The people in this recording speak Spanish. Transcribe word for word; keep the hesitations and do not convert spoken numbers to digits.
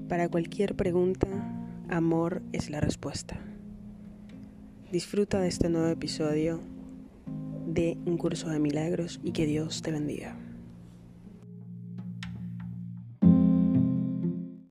Para cualquier pregunta, amor es la respuesta. Disfruta de este nuevo episodio de Un Curso de Milagros y que Dios te bendiga.